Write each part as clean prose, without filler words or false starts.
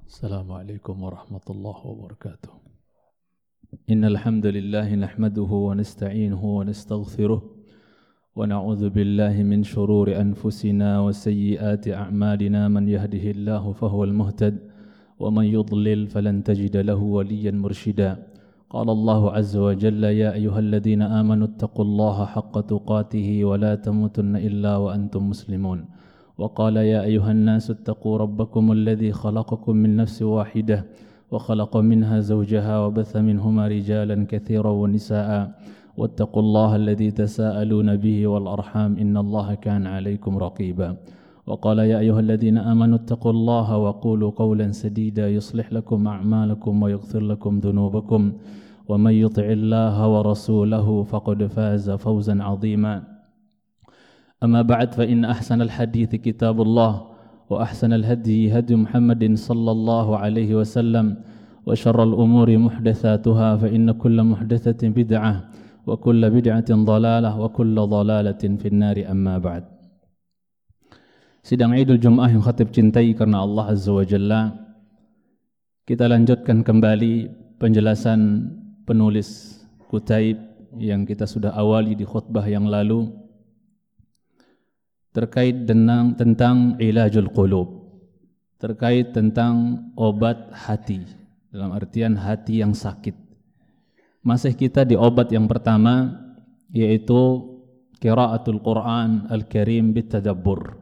السلام عليكم ورحمة الله وبركاته. إن الحمد لله نحمده ونستعينه ونستغفره ونعوذ بالله من شرور أنفسنا وسيئات أعمالنا. من يهده الله فهو المهتد ومن يضلل فلن تجد له وليا مرشدا. قال الله عز وجل: يا أيها الذين آمنوا اتقوا الله حق تقاته ولا تموتن إلا وأنتم مسلمون. وقال: يا أيها الناس اتقوا ربكم الذي خلقكم من نفس واحدة وخلق منها زوجها وبث منهما رجالا كثيرا ونساء واتقوا الله الذي تساءلون به والأرحام إن الله كان عليكم رقيبا. وقال: يا أيها الذين آمنوا اتقوا الله وقولوا قولا سديدا يصلح لكم أعمالكم ويغفر لكم ذنوبكم ومن يطع الله ورسوله فقد فاز فوزا عظيما. أما بعد فإن أحسن الحديث كتاب الله وأحسن الهدي هدي محمد صلى الله عليه وسلم وشر الأمور محدثاتها فإن كل محدثة بدعة وكل بدعة ضلالة وكل ضلالة في النار. أما بعد. Sidang Idul Jum'ah yang khatib cintai karena Allah Azza wa Jalla, kita lanjutkan kembali penjelasan penulis Kutaib yang kita sudah awali di khutbah yang lalu terkait tentang ilajul qulub, terkait tentang obat hati, dalam artian hati yang sakit. Masih kita di obat yang pertama, yaitu qiraatul Quran Al-Karim bitadabbur,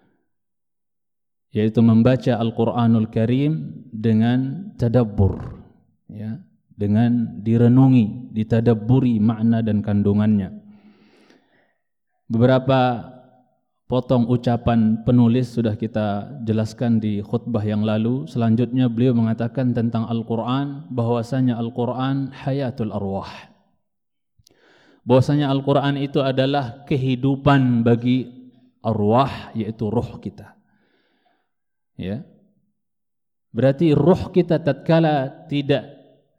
yaitu membaca Al-Quranul Karim dengan tadabbur, ya, dengan direnungi, ditadabburi makna dan kandungannya. Beberapa potong ucapan penulis sudah kita jelaskan di khutbah yang lalu. Selanjutnya beliau mengatakan tentang Al-Quran, bahwasanya Al-Quran hayatul arwah, bahwasanya Al-Quran itu adalah kehidupan bagi arwah, yaitu ruh kita, ya. Berarti ruh kita tatkala tidak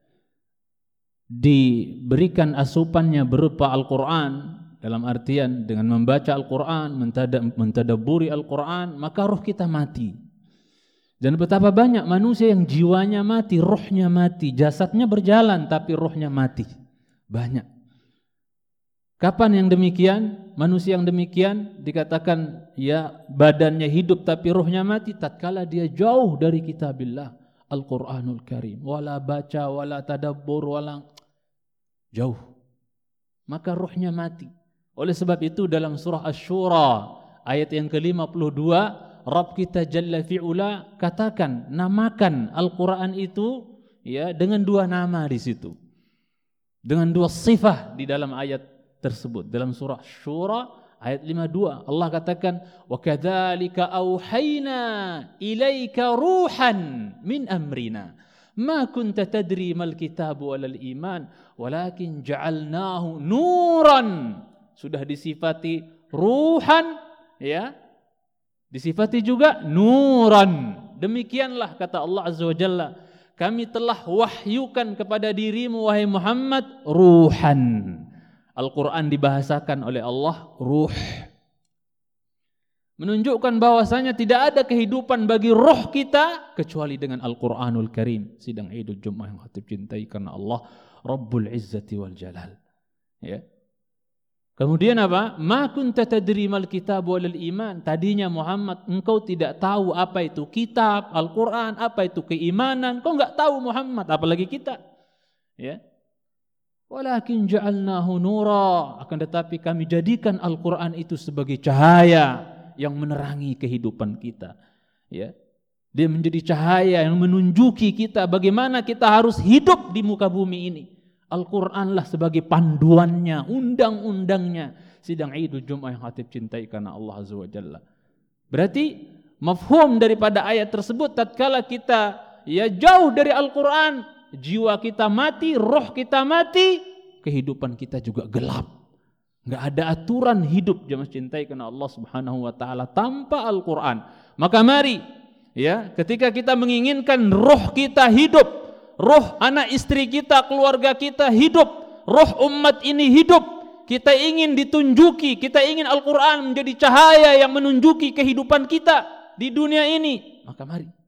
diberikan asupannya berupa Al-Quran, dalam artian dengan membaca Al-Quran, mentadabburi Al-Quran, maka ruh kita mati. Dan betapa banyak manusia yang jiwanya mati, ruhnya mati, jasadnya berjalan tapi ruhnya mati. Banyak. Kapan yang demikian? Manusia yang demikian dikatakan ya badannya hidup tapi ruhnya mati tatkala dia jauh dari kitabillah Al-Quranul Karim. Wala baca, wala tadabbur, wala jauh. Maka ruhnya mati. Oleh sebab itu dalam surah Asy-Syura ayat yang ke-52, Rabb kita Jalla fi'ula katakan, namakan Al-Quran itu ya dengan dua nama di situ, dengan dua sifat di dalam ayat tersebut. Dalam surah Asy-Syura ayat 52 Allah katakan, wa kadzalika auhayna ilaika ruhan min amrina ma kunta tadri mal kitabu walal iman walakin ja'alnahu nuran. Sudah disifati ruhan, ya, disifati juga nuran. Demikianlah kata Allah Azza wa Jalla, kami telah wahyukan kepada dirimu wahai Muhammad ruhan. Al-Quran dibahasakan oleh Allah ruh, menunjukkan bahwasanya tidak ada kehidupan bagi roh kita kecuali dengan Al-Quranul Karim. Sidang Idul Jum'ah yang khatib cintai karena Allah Rabbul Izzati wal Jalal, ya. Kemudian apa? Ma kunta tadri mal kitab walal iman. Tadinya Muhammad engkau tidak tahu apa itu kitab, Al-Quran, apa itu keimanan. Kau enggak tahu Muhammad, apalagi kita, ya. Walakin ja'alnahu nura, akan tetapi kami jadikan Al-Quran itu sebagai cahaya yang menerangi kehidupan kita, ya. Dia menjadi cahaya yang menunjuki kita bagaimana kita harus hidup di muka bumi ini. Al-Quranlah sebagai panduannya, undang-undangnya. Sidang Idul Jum'ah yang khatib cintai karena Allah Azza wa Jalla. Berarti mafhum daripada ayat tersebut, tatkala kita ya jauh dari Al-Quran, jiwa kita mati, roh kita mati, kehidupan kita juga gelap. Enggak ada aturan hidup jemaah cintai karena Allah Subhanahu wa taala tanpa Al-Quran. Maka mari, ya, ketika kita menginginkan roh kita hidup, roh anak istri kita, keluarga kita hidup, roh umat ini hidup, kita ingin ditunjuki, kita ingin Al-Quran menjadi cahaya yang menunjuki kehidupan kita di dunia ini, maka mari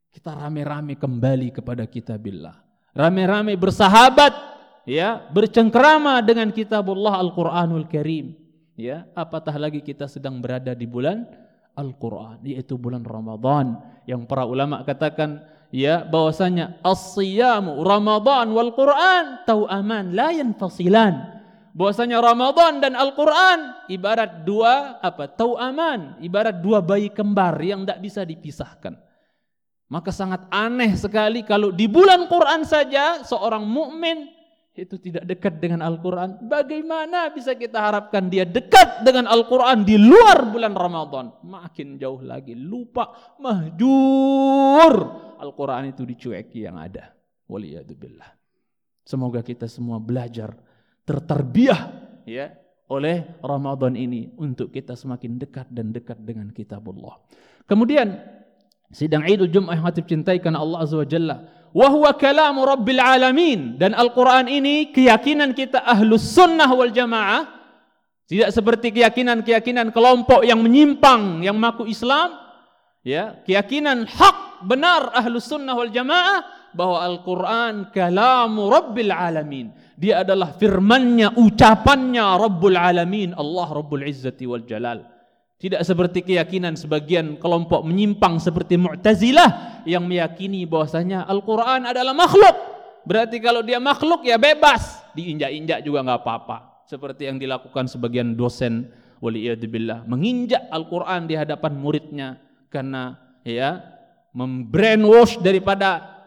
Kita rame-rame kembali kepada kitabillah. Rame-rame bersahabat, ya, bercengkrama dengan kitabullah Al-Qur'anul Karim. Ya, apatah lagi kita sedang berada di bulan Al-Qur'an, yaitu bulan Ramadan, yang para ulama katakan, ya, bahwasanya as-siyamu Ramadan wal Qur'an tau'aman la yanfasilan. Bahwasanya Ramadan dan Al-Qur'an ibarat dua tau'aman, ibarat dua bayi kembar yang tidak bisa dipisahkan. Maka sangat aneh sekali kalau di bulan Quran saja seorang mukmin itu tidak dekat dengan Al-Quran. Bagaimana bisa kita harapkan dia dekat dengan Al-Quran di luar bulan Ramadan? Makin jauh lagi, lupa, mahjur. Al-Quran itu dicueki yang ada. Waliyadzubillah. Semoga kita semua belajar, tertarbiyah, ya, oleh Ramadan ini untuk kita semakin dekat dan dekat dengan kitabullah. Kemudian sidang Idul Jum'ah yang hati cintai karena Allah Azza wa Jalla, wa huwa kalamu Rabbil Alamin, dan Al-Quran ini keyakinan kita Ahlus Sunnah wal Jamaah, tidak seperti keyakinan kelompok yang menyimpang, yang mengaku Islam, ya, keyakinan hak benar Ahlus Sunnah wal Jamaah bahwa Al-Quran kalamu Rabbil Alamin, dia adalah firmannya, ucapannya Rabbul Alamin, Allah Rabbul Izzati wal Jalal. Tidak seperti keyakinan sebagian kelompok menyimpang seperti Mu'tazilah yang meyakini bahwasanya Al-Quran adalah makhluk. Berarti kalau dia makhluk ya bebas, diinjak-injak juga nggak apa-apa. Seperti yang dilakukan sebagian dosen, waliyadzubillah, menginjak Al-Quran di hadapan muridnya karena ya membrainwash daripada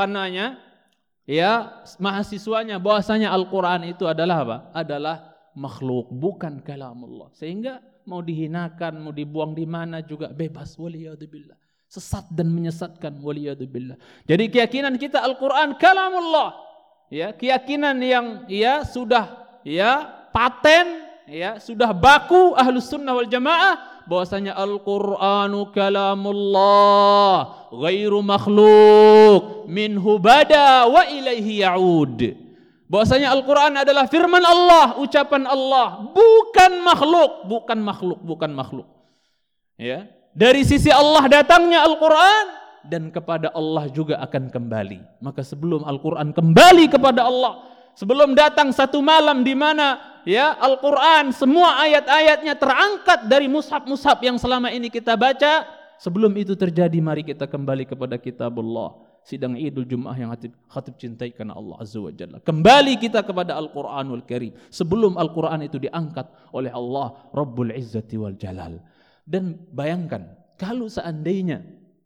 mahasiswanya bahwasanya Al-Quran itu adalah apa? Adalah makhluk, bukan kalamullah. Sehingga mau dihinakan, mau dibuang di mana juga bebas, waliyadzubillah. Sesat dan menyesatkan, waliyadzubillah. Jadi keyakinan kita Al-Quran kalamullah, ya, keyakinan yang ya sudah ya paten, ya sudah baku Ahlus Sunnah wal Jamaah bahwasanya Al-Qur'anu kalamullah ghairu makhluk minhu bada wa ilaihi ya'ud. Bahwasanya Al-Quran adalah firman Allah, ucapan Allah, bukan makhluk. Ya, dari sisi Allah datangnya Al-Quran dan kepada Allah juga akan kembali. Maka sebelum Al-Quran kembali kepada Allah, sebelum datang satu malam di mana ya Al-Quran semua ayat-ayatnya terangkat dari mushaf-mushaf yang selama ini kita baca, sebelum itu terjadi mari kita kembali kepada kitabullah. Sidang Idul Jum'ah yang khatib cintai karena Allah Azza wa Jalla. Kembali kita kepada Al-Quranul Karim sebelum Al-Quran itu diangkat oleh Allah Rabbul Izzati wal Jalal. Dan bayangkan kalau seandainya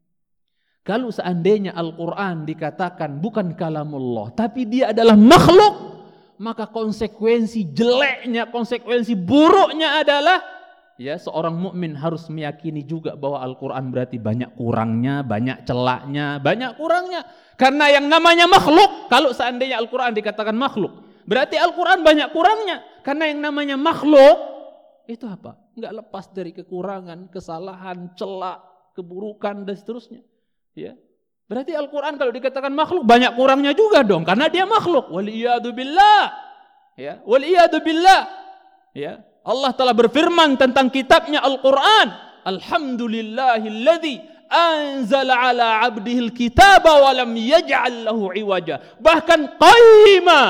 Al-Quran dikatakan bukan kalamullah tapi dia adalah makhluk, maka konsekuensi jeleknya, konsekuensi buruknya adalah ya seorang mukmin harus meyakini juga bahwa Al-Quran berarti banyak kurangnya, banyak celaknya, banyak kurangnya. Karena yang namanya makhluk, kalau seandainya Al-Quran dikatakan makhluk, berarti Al-Quran banyak kurangnya. Karena yang namanya makhluk itu apa? Enggak lepas dari kekurangan, kesalahan, celak, keburukan dan seterusnya. Ya. Berarti Al-Quran kalau dikatakan makhluk banyak kurangnya juga dong, karena dia makhluk. Waliyadzubillah. Ya, waliyadzubillah. Ya. Allah telah berfirman tentang kitabnya Al-Quran, Alhamdulillahilladzi anzala ala abdihil kitaba wa lam yaj'al lahu iwaja. Bahkan qayyima.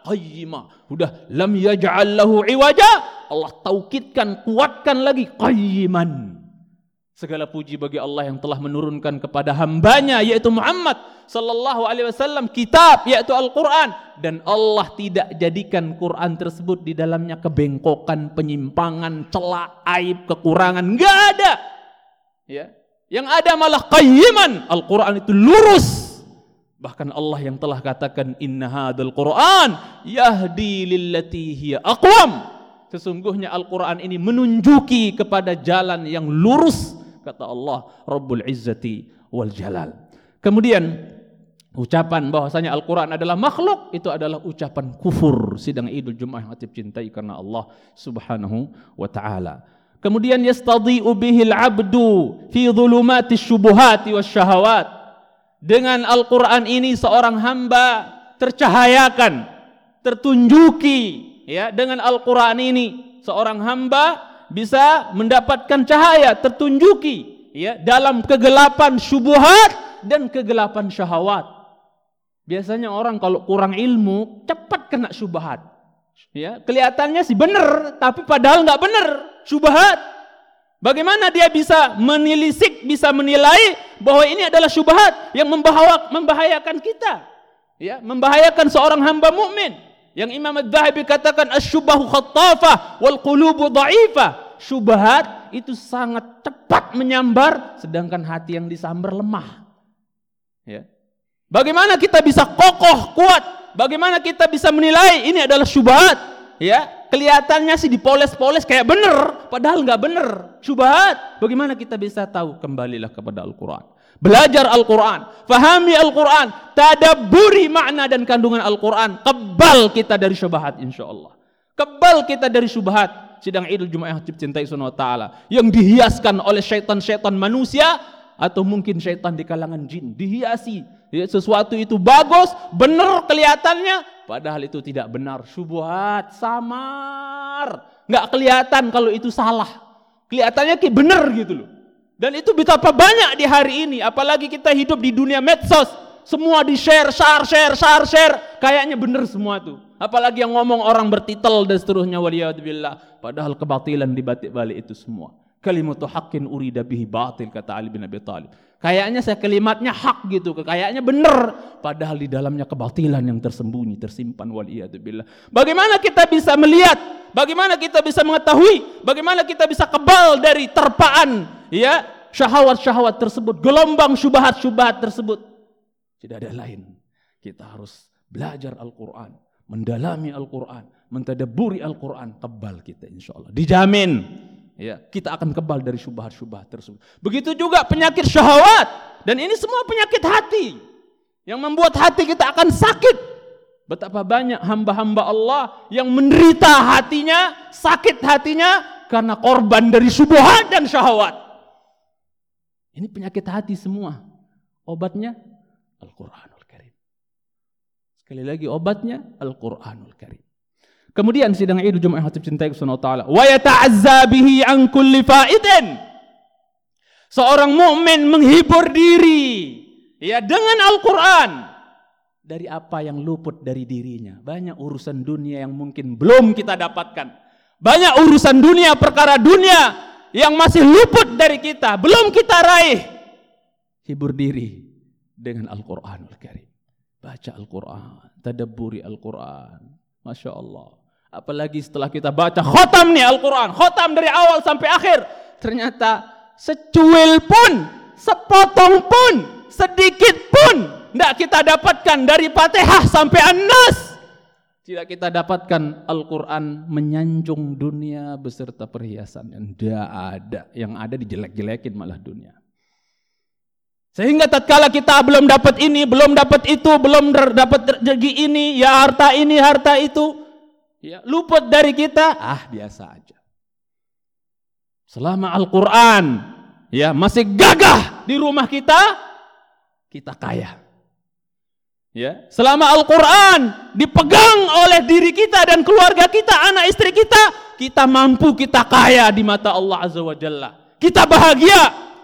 Udah lam yaj'al lahu iwaja, Allah taukidkan, kuatkan lagi qayyiman. Segala puji bagi Allah yang telah menurunkan kepada hambanya yaitu Muhammad sallallahu alaihi wasallam kitab yaitu Al-Quran, dan Allah tidak jadikan Quran tersebut di dalamnya kebengkokan, penyimpangan, celak, aib, kekurangan, enggak ada. Ya. Yang ada malah qayyiman. Al-Quran itu lurus. Bahkan Allah yang telah katakan inna hadzal Quran yahdi lillati hiya aqwam. Sesungguhnya Al-Quran ini menunjuki kepada jalan yang lurus, kata Allah Rabbul Izzati wal Jalal. Kemudian ucapan bahwasanya Al-Quran adalah makhluk itu adalah ucapan kufur. Sidang Idul Jum'ah yang hati cintai karena Allah Subhanahu wa taala. Kemudian yastadhi'u bihil 'abdu fi dhulumatis syubuhati wasyahawat. Dengan Al-Quran ini seorang hamba tercahayakan, tertunjuki, ya, dengan Al-Quran ini seorang hamba bisa mendapatkan cahaya, tertunjuki, ya, dalam kegelapan syubhat dan kegelapan syahwat. Biasanya orang kalau kurang ilmu cepat kena syubhat. Ya, kelihatannya sih benar, tapi padahal nggak benar, syubhat. Bagaimana dia bisa menelisik, bisa menilai bahwa ini adalah syubhat yang membahayakan kita, ya, membahayakan seorang hamba mukmin. Yang Imam Adz-Dzahabi katakan asy-syubhu khattafah wal qulubu dha'ifah. Syubhat itu sangat cepat menyambar, sedangkan hati yang disambar lemah. Ya. Bagaimana kita bisa kokoh, kuat? Bagaimana kita bisa menilai ini adalah syubhat? Ya, kelihatannya sih dipoles-poles kayak benar, padahal nggak benar. Syubhat. Bagaimana kita bisa tahu? Kembalilah kepada Al-Quran. Belajar Al-Quran, fahami Al-Quran, tadabburi makna dan kandungan Al-Quran. Kebal kita dari syubhat, insyaallah. Kebal kita dari syubhat. Sidang Idul Jumat yang dicintai Subhanahu wa taala, yang dihiaskan oleh syaitan-syaitan manusia atau mungkin syaitan di kalangan jin, dihiasi. Ya, sesuatu itu bagus, benar kelihatannya, padahal itu tidak benar. Syubhat, samar, nggak kelihatan kalau itu salah. Kelihatannya kayak benar gitu loh. Dan itu betapa banyak di hari ini, apalagi kita hidup di dunia medsos, semua di-share, share, kayaknya benar semua tuh. Apalagi yang ngomong orang bertitel dan seterusnya, waliyadzubillah. Padahal kebatilan di balik itu semua. Kalimatu haqqin urida bihi batil, kata Ali bin Abi Thalib. Kayaknya saya kalimatnya hak gitu, kayaknya benar, padahal di dalamnya kebatilan yang tersembunyi, tersimpan, waliyadzubillah. Bagaimana kita bisa melihat? Bagaimana kita bisa mengetahui? Bagaimana kita bisa kebal dari terpaan, ya, syahwat-syahwat tersebut, gelombang syubhat-syubhat tersebut? Tidak ada lain. Kita harus belajar Al-Quran, mendalami Al-Quran, mentadabburi Al-Quran, kebal kita insyaallah. Dijamin, ya, kita akan kebal dari syubhat-syubhat tersebut. Begitu juga penyakit syahwat, dan ini semua penyakit hati yang membuat hati kita akan sakit. Betapa banyak hamba-hamba Allah yang menderita hatinya, sakit hatinya karena korban dari syubhat dan syahwat. Ini penyakit hati semua. Obatnya Al-Quranul Karim. Sekali lagi, obatnya Al-Quranul Karim. Kemudian sidang Idul Jumat yang hati cintai Subhanahu wa taala, wa yata'azza bihi an kulli fa'idin. Seorang mukmin menghibur diri, ya, dengan Al-Quran dari apa yang luput dari dirinya. Banyak urusan dunia yang mungkin belum kita dapatkan. Banyak urusan dunia, perkara dunia yang masih luput dari kita, belum kita raih. Hibur diri dengan Al-Quranul Karim. Baca Al-Quran, tadabburi Al-Quran. Masya Allah. Apalagi setelah kita baca khotam nih Al-Quran, khotam dari awal sampai akhir, ternyata secuil pun, sepotong pun, sedikit pun tidak kita dapatkan dari Fatihah sampai An-Nas. Tidak kita dapatkan Al-Quran menyanjung dunia beserta perhiasan yang tidak ada. Yang ada dijelek-jelekin malah dunia. Sehingga tatkala kita belum dapat ini, belum dapat itu, belum dapat rezeki ini, ya harta ini, harta itu, ya, luput dari kita, biasa aja. Selama Al-Quran, ya, masih gagah di rumah kita kaya. Ya, selama Al-Quran dipegang oleh diri kita dan keluarga kita, anak istri kita mampu, kita kaya di mata Allah Azza wa Jalla. Kita bahagia.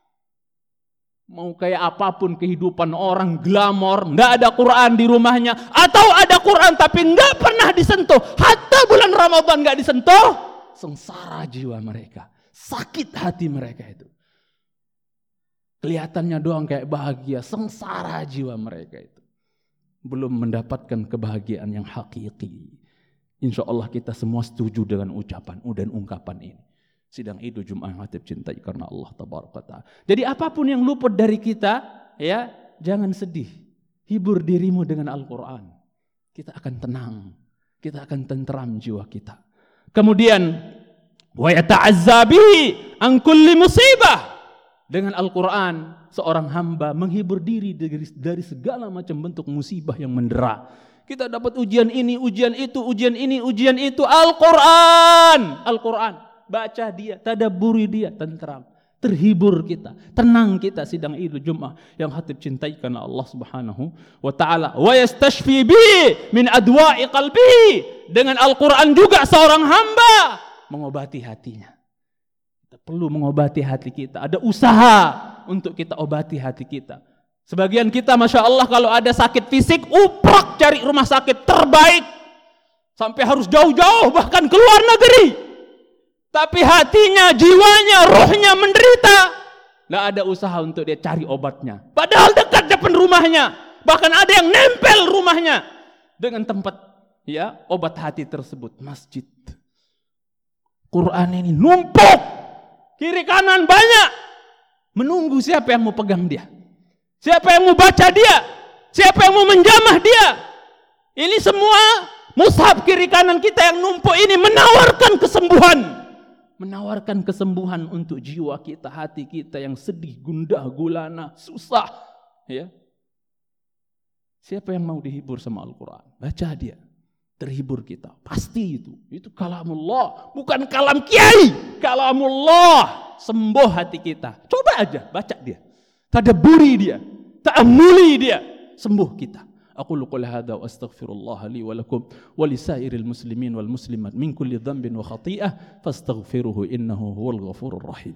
Mau kayak apapun kehidupan orang glamor, enggak ada Quran di rumahnya, atau ada Quran tapi enggak pernah disentuh, hatta bulan Ramadan enggak disentuh, sengsara jiwa mereka, sakit hati mereka itu. Kelihatannya doang kayak bahagia, sengsara jiwa mereka itu. Belum mendapatkan kebahagiaan yang hakiki. Insya Allah kita semua setuju dengan ucapan dan ungkapan ini. Sidang Idul Jumat yang hati cintai karena Allah Tabaraka Ta'ala. Jadi apapun yang luput dari kita, ya, jangan sedih. Hibur dirimu dengan Al-Quran. Kita akan tenang. Kita akan tenteram jiwa kita. Kemudian wa yata'azza bihi an kulli musibah. Dengan Al-Quran, seorang hamba menghibur diri dari segala macam bentuk musibah yang mendera. Kita dapat ujian ini, ujian itu, ujian ini, ujian itu. Al-Quran. Al-Quran. Baca dia, tadabburi dia, tentram. Terhibur kita, tenang kita sidang Idul Jumat yang hati cintai karena Allah Subhanahu wa taala. Wa yastashfi bi min adwa'i qalbihi. Dengan Al-Quran juga seorang hamba mengobati hatinya. Kita perlu mengobati hati kita. Ada usaha untuk kita obati hati kita. Sebagian kita Masya Allah kalau ada sakit fisik, uprak cari rumah sakit terbaik. Sampai harus jauh-jauh bahkan ke luar negeri. Tapi hatinya, jiwanya, rohnya menderita. Nggak ada usaha untuk dia cari obatnya. Padahal dekat depan rumahnya. Bahkan ada yang nempel rumahnya dengan tempat obat hati tersebut. Masjid. Quran ini numpuk. Kiri kanan banyak. Menunggu siapa yang mau pegang dia. Siapa yang mau baca dia? Siapa yang mau menjamah dia? Ini semua mushaf kiri kanan kita yang numpuk ini menawarkan kesembuhan. Menawarkan kesembuhan untuk jiwa kita, hati kita yang sedih, gundah, gulana, susah. Ya. Siapa yang mau dihibur sama Al-Quran? Baca dia. Terhibur kita. Pasti itu. Itu kalamullah. Bukan kalam kiai. Kalamullah. Sembuh hati kita. Coba aja baca dia. Tadabburi dia, ta'ammuli dia, sembuh kita. Aku qouli hadza wa astaghfirullah li wa lakum wa lisairil muslimin wal muslimat min kulli dhanbin wa khati'ah fastaghfiruhu innahu huwal ghafurur rahim.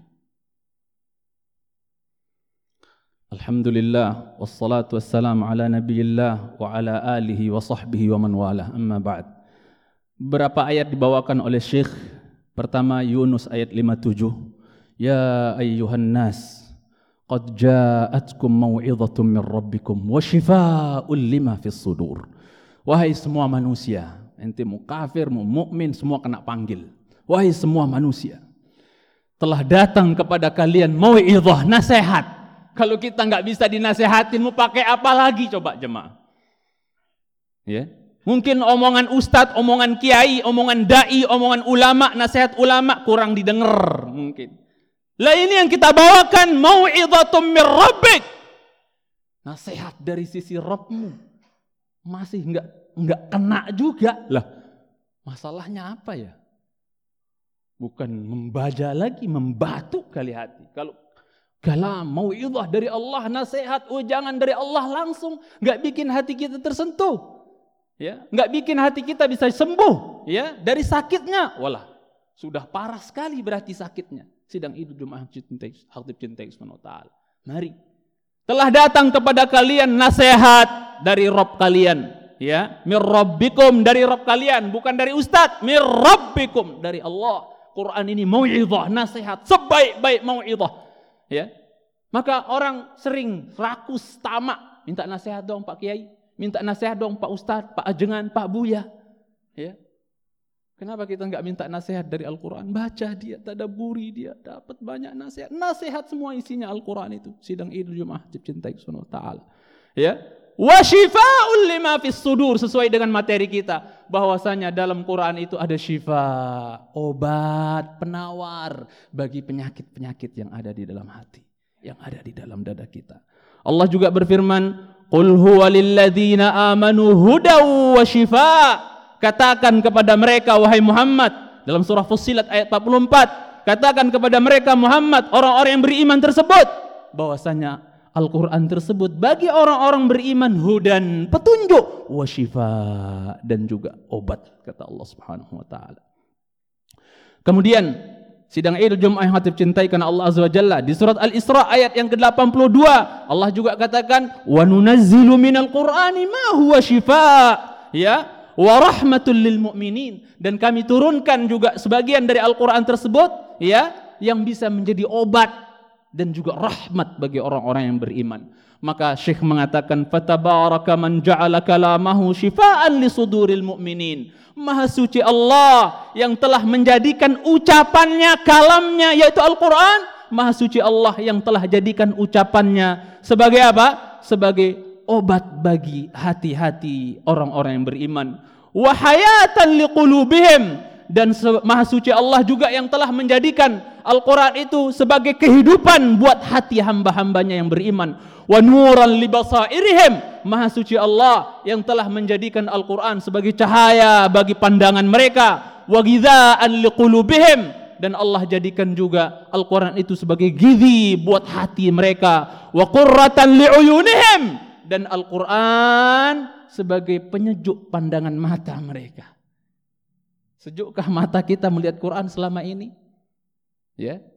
Alhamdulillah wassalatu wassalamu ala nabiyillah wa ala alihi wa sahbihi wa man walah. Amma ba'd. Beberapa ayat dibawakan oleh Syekh. Pertama Yunus ayat 57. Ya ayyuhan nas qad ja'atkum mau'izatun min rabbikum wa shifaa'un lima fis sudur. Wahai semua manusia, ente mau kafir, mau mukmin, semua kena panggil. Wahai semua manusia, telah datang kepada kalian mau'izah, nasihat. Kalau kita enggak bisa dinasehatin, mau pakai apa lagi coba jemaah? Ya. Mungkin omongan ustadz, omongan kiai, omongan dai, omongan ulama, nasihat ulama kurang didengar mungkin. Lah ini yang kita bawakan mau'izatun mir rabbik. Nasihat dari sisi Rabbmu. Masih enggak kena juga. Lah, masalahnya apa ya? Bukan membaja lagi, membatu kali hati. Kalau kalam mau'izah dari Allah, nasihat ujangan dari Allah langsung enggak bikin hati kita tersentuh. Ya, enggak bikin hati kita bisa sembuh, ya, dari sakitnya. Walah, sudah parah sekali berarti sakitnya. Sidang Idul Jumat Hatib Cintai Subhanahu wa Ta'ala. Mari. Telah datang kepada kalian nasihat dari Rabb kalian. Ya. Mir Rabbikum, dari Rabb kalian. Bukan dari Ustadz. Mir Rabbikum, dari Allah. Quran ini mau'izah, nasihat. Sebaik-baik mau'izah. Ya. Maka orang sering rakus, tamak. Minta nasihat dong Pak Kiai. Minta nasihat dong Pak Ustadz, Pak Ajengan, Pak Buya. Ya. Kenapa kita enggak minta nasihat dari Al-Quran? Baca dia, tadabburi dia, dapat banyak nasihat. Nasihat semua isinya Al-Quran itu. Sidang Idul Jumat Hatib Cintai Subhanahu wa Ta'ala. Ya. Wa shifaa'un lima fis sudur, sesuai dengan materi kita. Bahwasanya dalam Quran itu ada syifa, obat, penawar bagi penyakit-penyakit yang ada di dalam hati, yang ada di dalam dada kita. Allah juga berfirman, "Qul huwa lil ladzina amanu hudaw wa shifaa." Katakan kepada mereka wahai Muhammad, dalam surah Fussilat ayat 44, katakan kepada mereka Muhammad, orang-orang yang beriman tersebut, bahwasanya Al-Quran tersebut bagi orang-orang beriman hudan, petunjuk, wa shifa, dan juga obat, kata Allah Subhanahu wa Ta'ala. Kemudian sidang Idul Jumat yang Hatib cintai karena Allah Azza wa Jalla, di surat Al-Isra ayat yang ke-82 Allah juga katakan wa nunazzilu minal Qur'ani ma huwa shifaa, ya, wa rahmatul lil mu'minin, dan kami turunkan juga sebagian dari Al-Quran tersebut, ya, yang bisa menjadi obat dan juga rahmat bagi orang-orang yang beriman. Maka Syekh mengatakan fatabaraka man ja'ala kalamahu shifaan li suduril mu'minin. Maha suci Allah yang telah menjadikan ucapannya, kalamnya yaitu Al-Quran. Maha suci Allah yang telah jadikan ucapannya sebagai apa? Sebagai obat bagi hati-hati orang-orang yang beriman. Wa hayatan liqulubihim, dan maha suci Allah juga yang telah menjadikan Al-Quran itu sebagai kehidupan buat hati hamba-hambanya yang beriman. Wa nuran libasairihim, maha suci Allah yang telah menjadikan Al-Quran sebagai cahaya bagi pandangan mereka. Wa ghidhaan liqulubihim, dan Allah jadikan juga Al-Quran itu sebagai gizi buat hati mereka. Wa qurratan liuyunihim, dan Al-Quran sebagai penyejuk pandangan mata mereka. Sejukkah mata kita melihat Quran selama ini? Ya.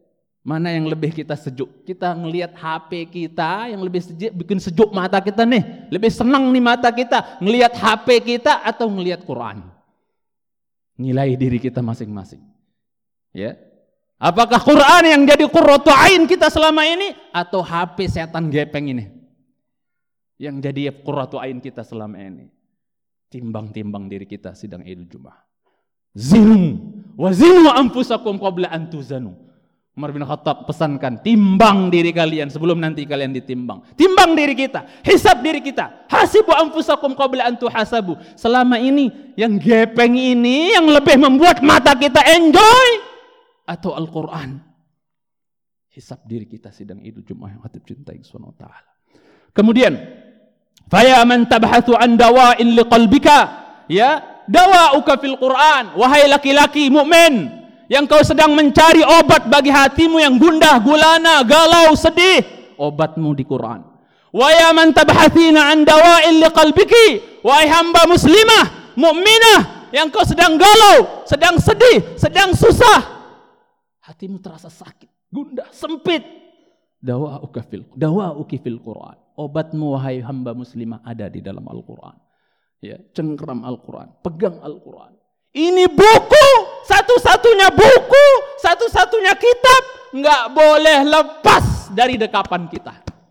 Mana yang lebih kita sejuk? Kita ngelihat HP kita yang lebih sejuk, bikin sejuk mata kita nih. Lebih senang nih mata kita ngelihat HP kita atau ngelihat Quran? Nilai diri kita masing-masing. Ya. Apakah Quran yang jadi qurratu ain kita selama ini atau HP setan gepeng ini yang jadi qurratu ain kita selama ini? Timbang-timbang diri kita sidang Idul Jumat. Zinu wa zinu anfusakum qabla an tuzanu. Umar bin Khattab pesankan, timbang diri kalian sebelum nanti kalian ditimbang. Timbang diri kita, hisab diri kita. Hasibu anfusakum qabla an tuhasabu. Selama ini yang gepeng ini yang lebih membuat mata kita enjoy atau Al-Qur'an? Hisab diri kita sidang Idul Jumat yang hatib cintai Subhanahu wa taala. Kemudian, fa ya man tabhathu an dawa'in liqalbika, ya, dawa'uka fil Qur'an. Wahai laki-laki mukmin yang kau sedang mencari obat bagi hatimu yang gundah, gulana, galau, sedih, obatmu di Quran. Wa ya man tabhathina an dawa'il liqalbiki, wahai hamba muslimah, mukminah yang kau sedang galau, sedang sedih, sedang susah, hatimu terasa sakit, gundah, sempit. Dawa'uki fil Quran. Obatmu wahai hamba muslimah ada di dalam Al-Quran. Ya, cengkram Al-Quran, pegang Al-Quran. Ini buku, satu-satunya buku, satu-satunya kitab, nggak boleh lepas dari dekapan kita.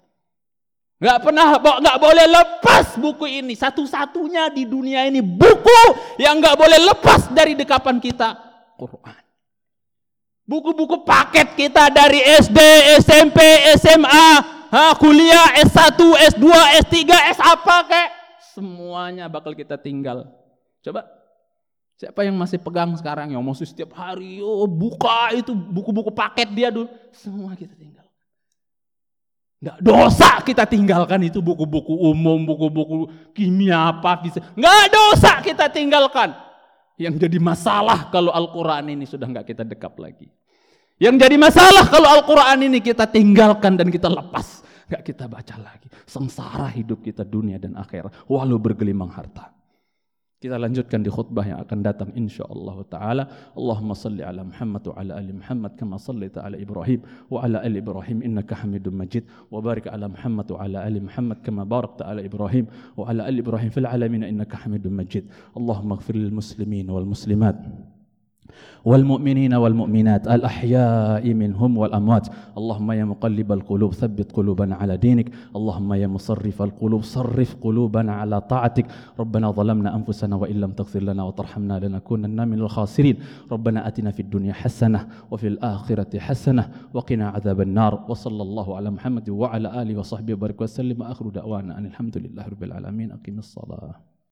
Nggak boleh lepas buku ini, satu-satunya di dunia ini buku yang nggak boleh lepas dari dekapan kita, Quran. Buku-buku paket kita dari SD, SMP, SMA, kuliah, S1, S2, S3, S apa kek, semuanya bakal kita tinggal. Coba. Siapa yang masih pegang sekarang, yang masih setiap hari buka itu buku-buku paket dia dulu, semua kita tinggal. Nggak dosa kita tinggalkan itu buku-buku umum, buku-buku kimia apa bisa. Nggak dosa kita tinggalkan. Yang jadi masalah kalau Al-Quran ini sudah nggak kita dekap lagi. Yang jadi masalah kalau Al-Quran ini kita tinggalkan dan kita lepas, nggak kita baca lagi. Sengsara hidup kita dunia dan akhirat, walau bergelimang harta. Kita lanjutkan di khutbah yang akan datang insyaallah taala. Allahumma salli ala Muhammad wa ala ali Muhammad kama sallaita ala Ibrahim wa ala ali Ibrahim innaka Hamidum Majid wa barik ala Muhammad wa ala ali Muhammad kama barakta ala Ibrahim wa ala ali Ibrahim fil alamin innaka Hamidum Majid. Allahumma ighfir lil muslimin wal muslimat والمؤمنين والمؤمنات الأحياء منهم والأموات اللهم يا مقلب القلوب ثبت قلوبنا على دينك اللهم يا مصرف القلوب صرف قلوبنا على طاعتك ربنا ظلمنا أنفسنا وإن لم تغفر لنا وترحمنا لنكونن من الخاسرين ربنا آتنا في الدنيا حسنة وفي الآخرة حسنة وقنا عذاب النار وصلى الله على محمد وعلى آله وصحبه وبارك وسلم وآخر دعوانا أن الحمد لله رب العالمين أقم الصلاة